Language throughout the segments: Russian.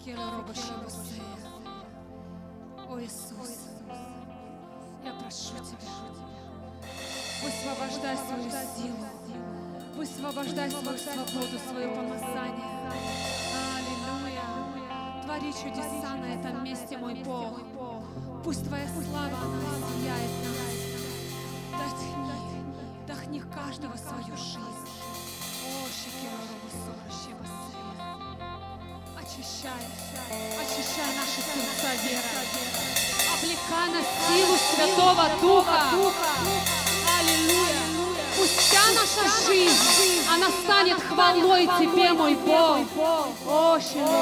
О, Иисус, я прошу Тебя, высвобождай свою силу, высвобождай свою свободу, свое помазание. Аллилуйя. Твори чудеса на этом месте, мой Бог. Пусть Твоя слава, она сияет нас. Вдохни в каждого свою жизнь. О, очищай наши сердца верой. Облекай на силу Святого Духа. Аллилуйя. Пусть вся наша жизнь, она станет хвалой Тебе, мой Бог. О,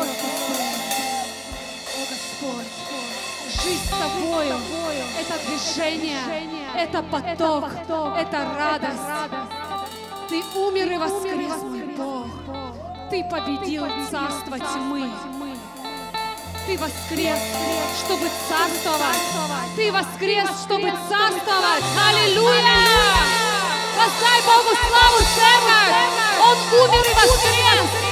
Господь, жизнь с Тобою — это движение, это поток, это радость. Ты умер и воскрес, мой Бог. Ты победил царство тьмы. Ты воскрес, чтобы царствовать. Ты воскрес, чтобы царствовать. Аллилуйя! Воздай Богу славу, церковь! Он умер и воскрес!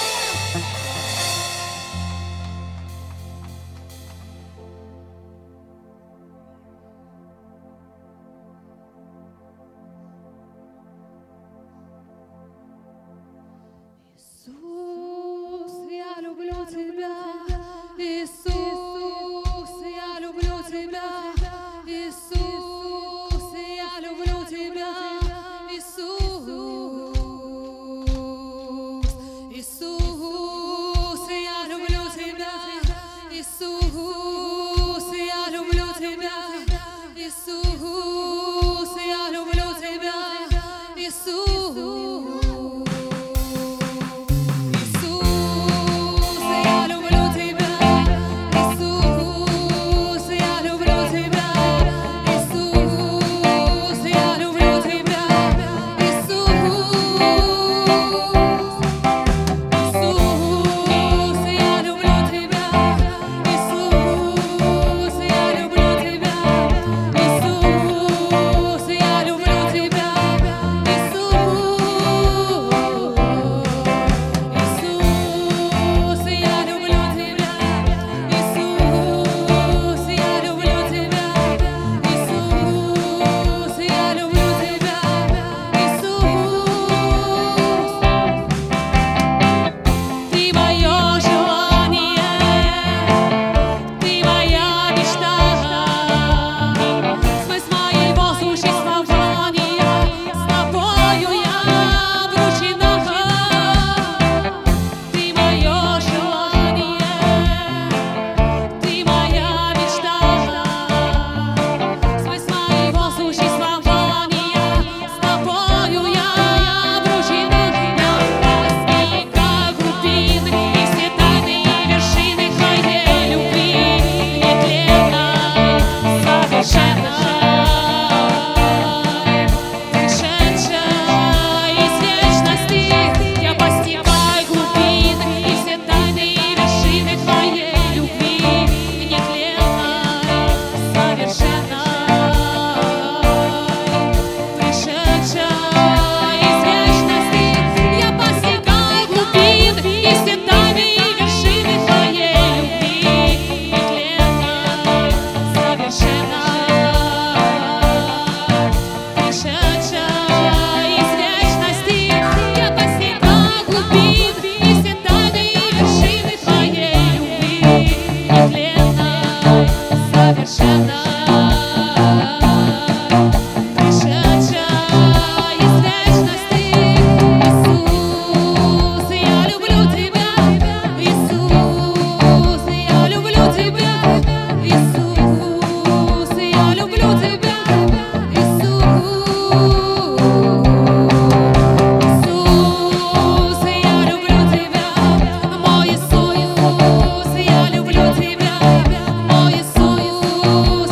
Иисус, я люблю Тебя. Иисус, я люблю Тебя. Иисус, я люблю Тебя. Иисус, Иисус, я люблю Тебя. Иисус, я люблю Тебя. Иисус, я люблю Тебя. Иисус. Иисус,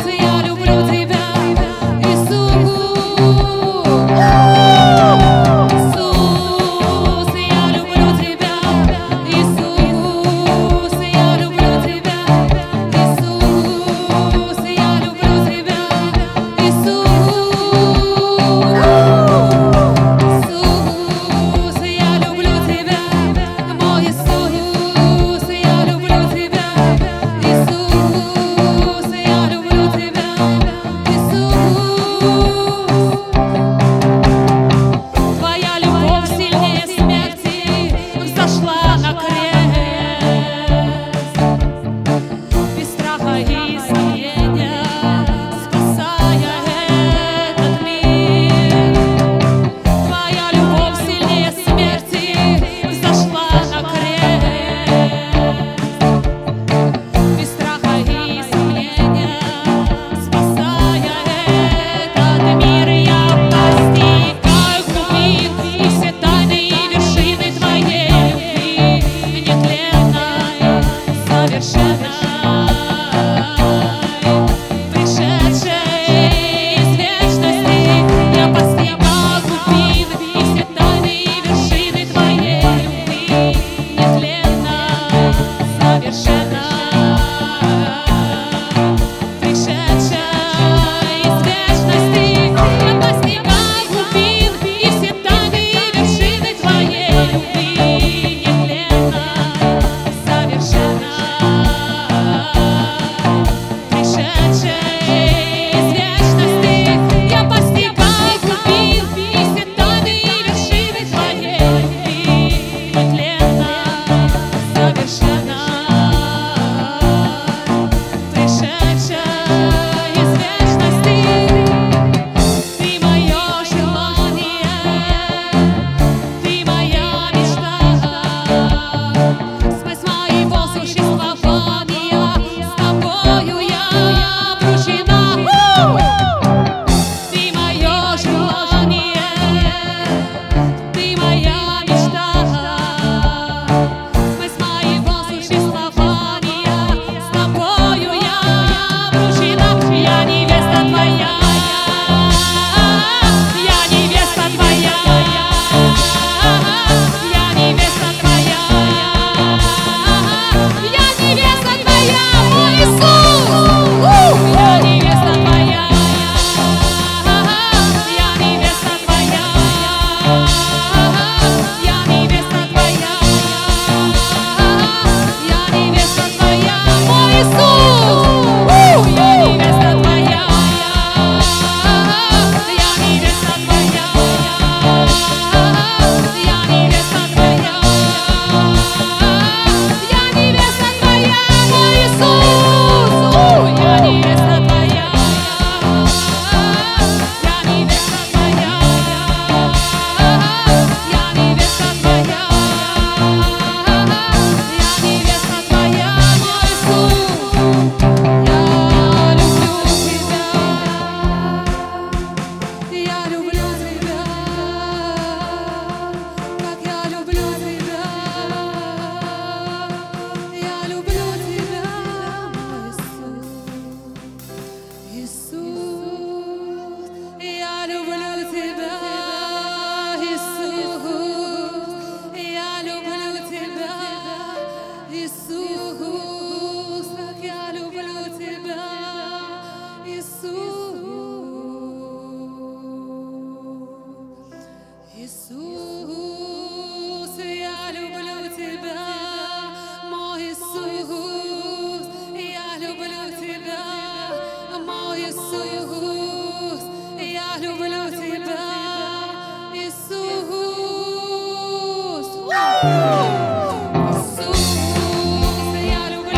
Иисус, я люблю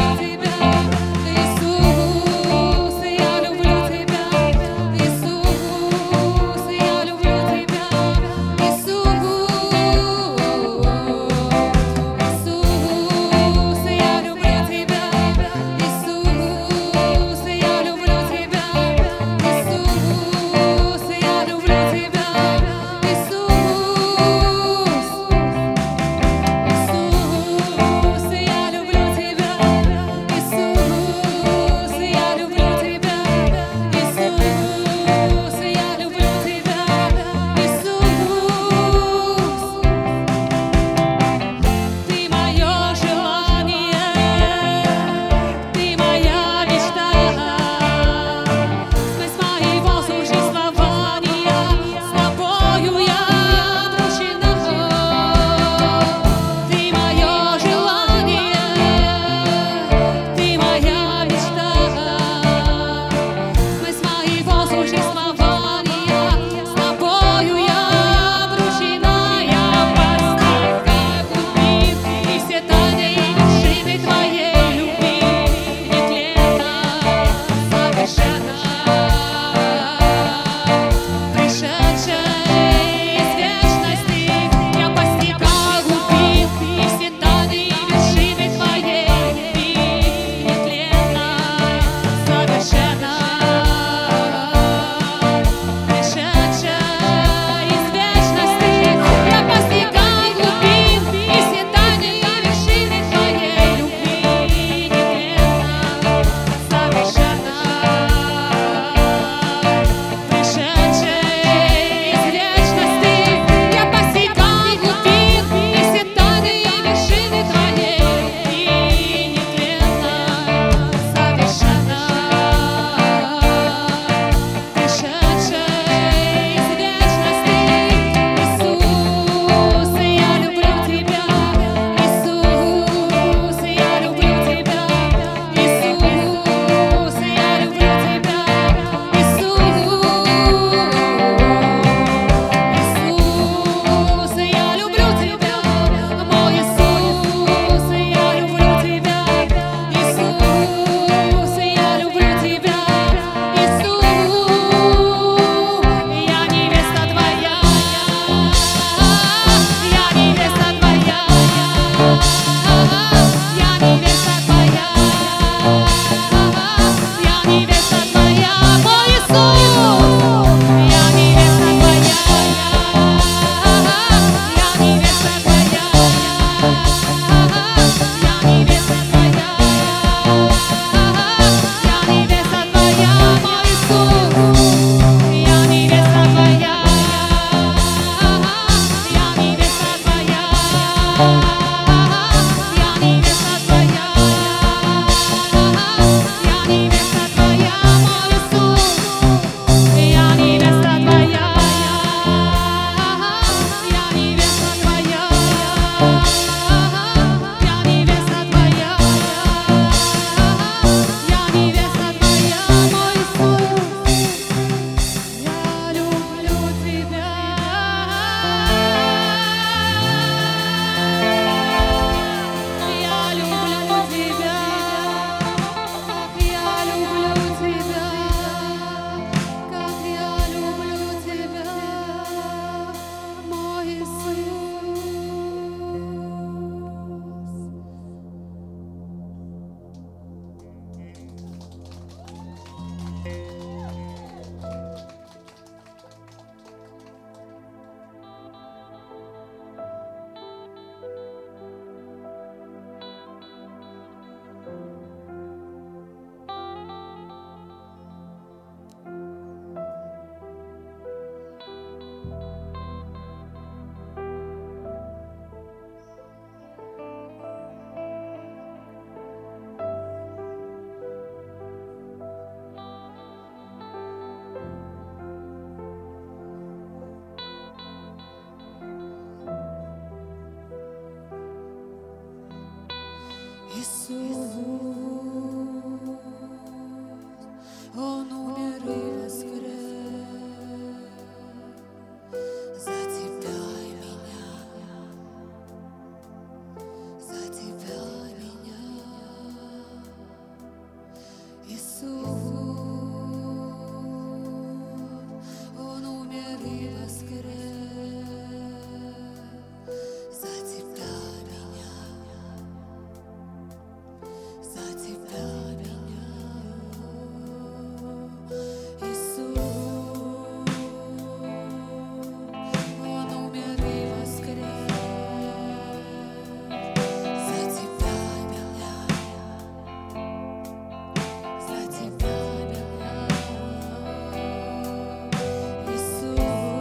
Он умер и воскрес за тебя и меня, за тебя и меня. Иисус, Он умер и воскрес за тебя и меня, за тебя и меня. Иисус, Он умер и воскрес за тебя и меня, за тебя и меня. Иисус,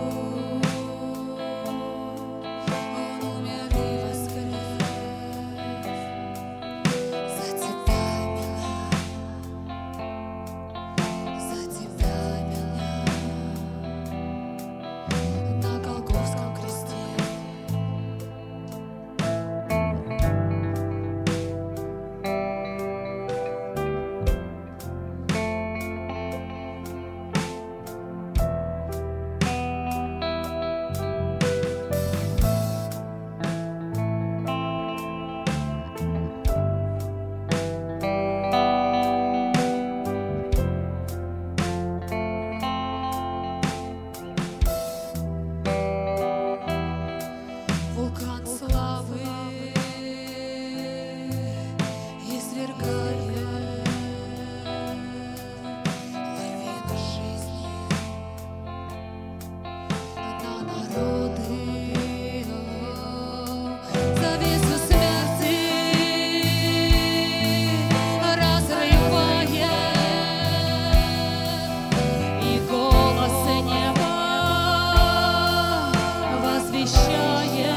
Он умер и воскрес за тебя и меня, за тебя и меня. На Голгофском кресте. Вулкан славы извергает лавину жизни на народы, завесу смерти разрывая, и голос неба возвещая.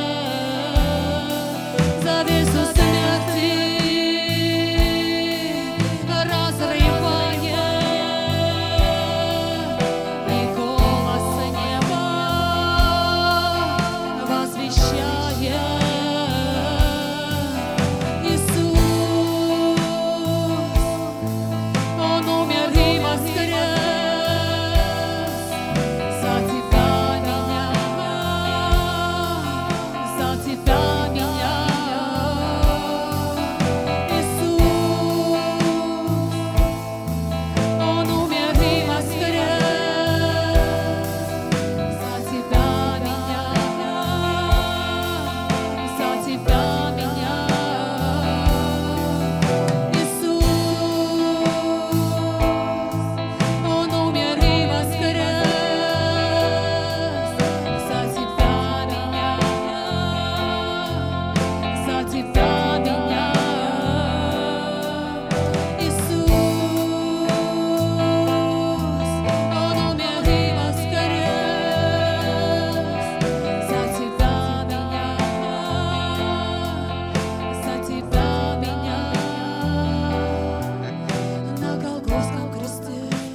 Завесу смерти разрывая, и голос неба возвещая. Иисус, Он умер и воскрес за тебя меня, за тебя меня. Он умер и воскрес за тебя меня, за тебя меня. Иисус, Он умер и воскрес за тебя меня, за тебя меня. Иисус, Он умер и воскрес за тебя меня, за тебя меня. На Голгофском кресте.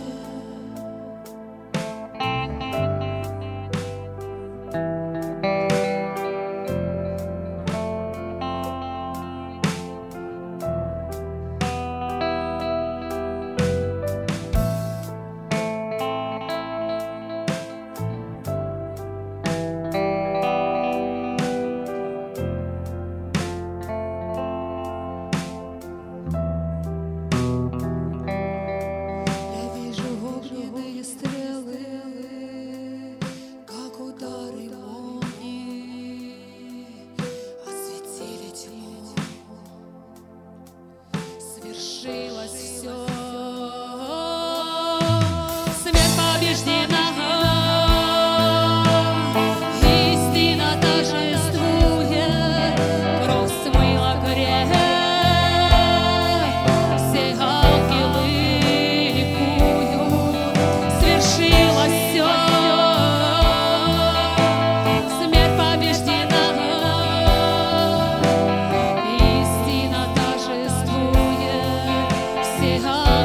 Я вижу огненные стрелы, как удары молнии, осветили тьму. Свершилось все, смерть побеждена, истина торжествует, кровь смыла грех, все ангелы ликуют. Свершилось все, смерть побеждена, истина торжествует, все ангелы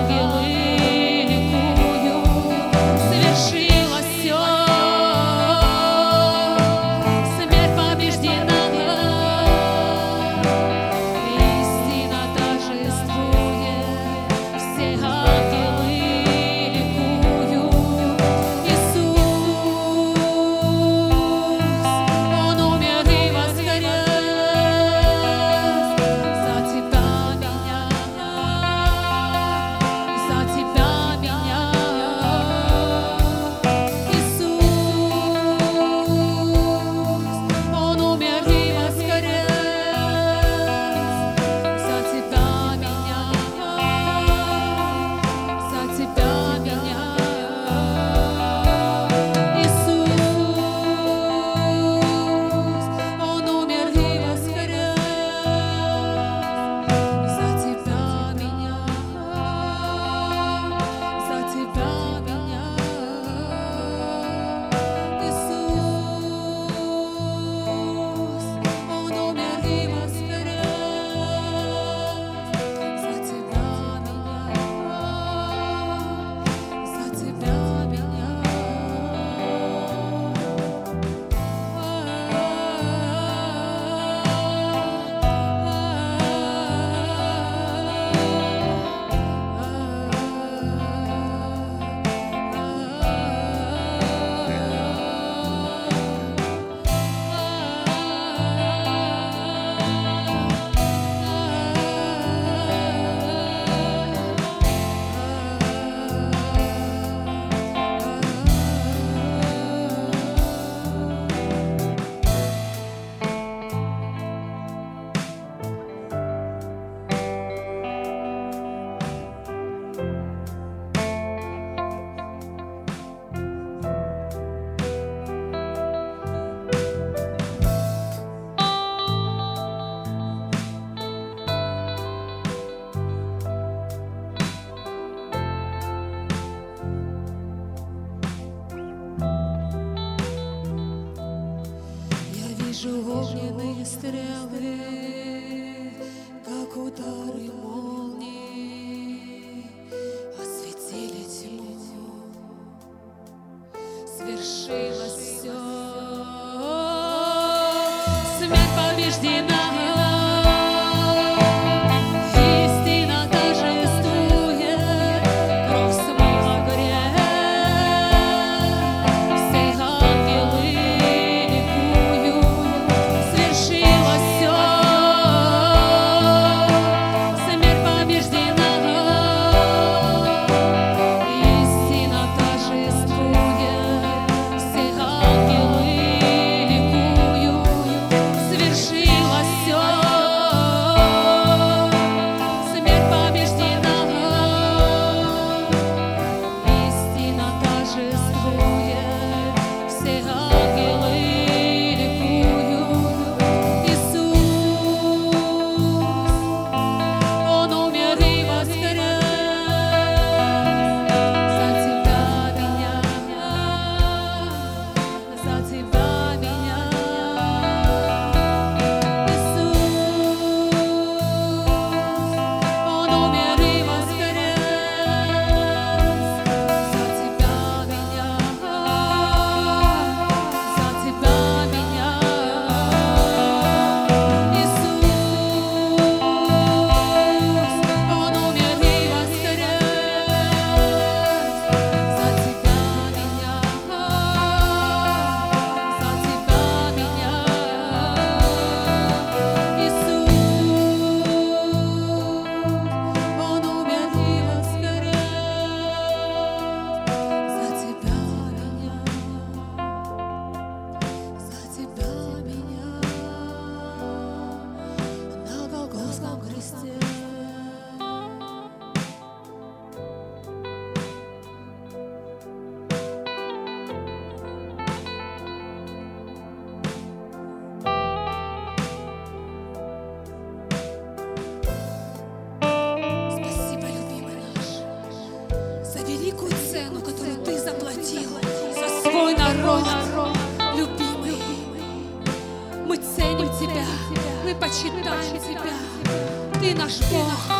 наш Бог.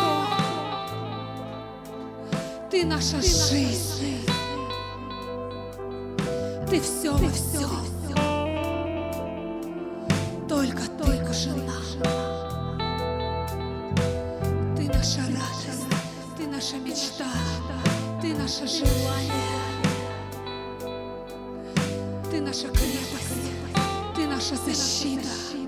Ты наша жизнь. Ты все во всем. Только Ты нужна. Ты наша радость, Ты наша мечта, Ты наше желание, Ты наша крепость, Ты наша защита.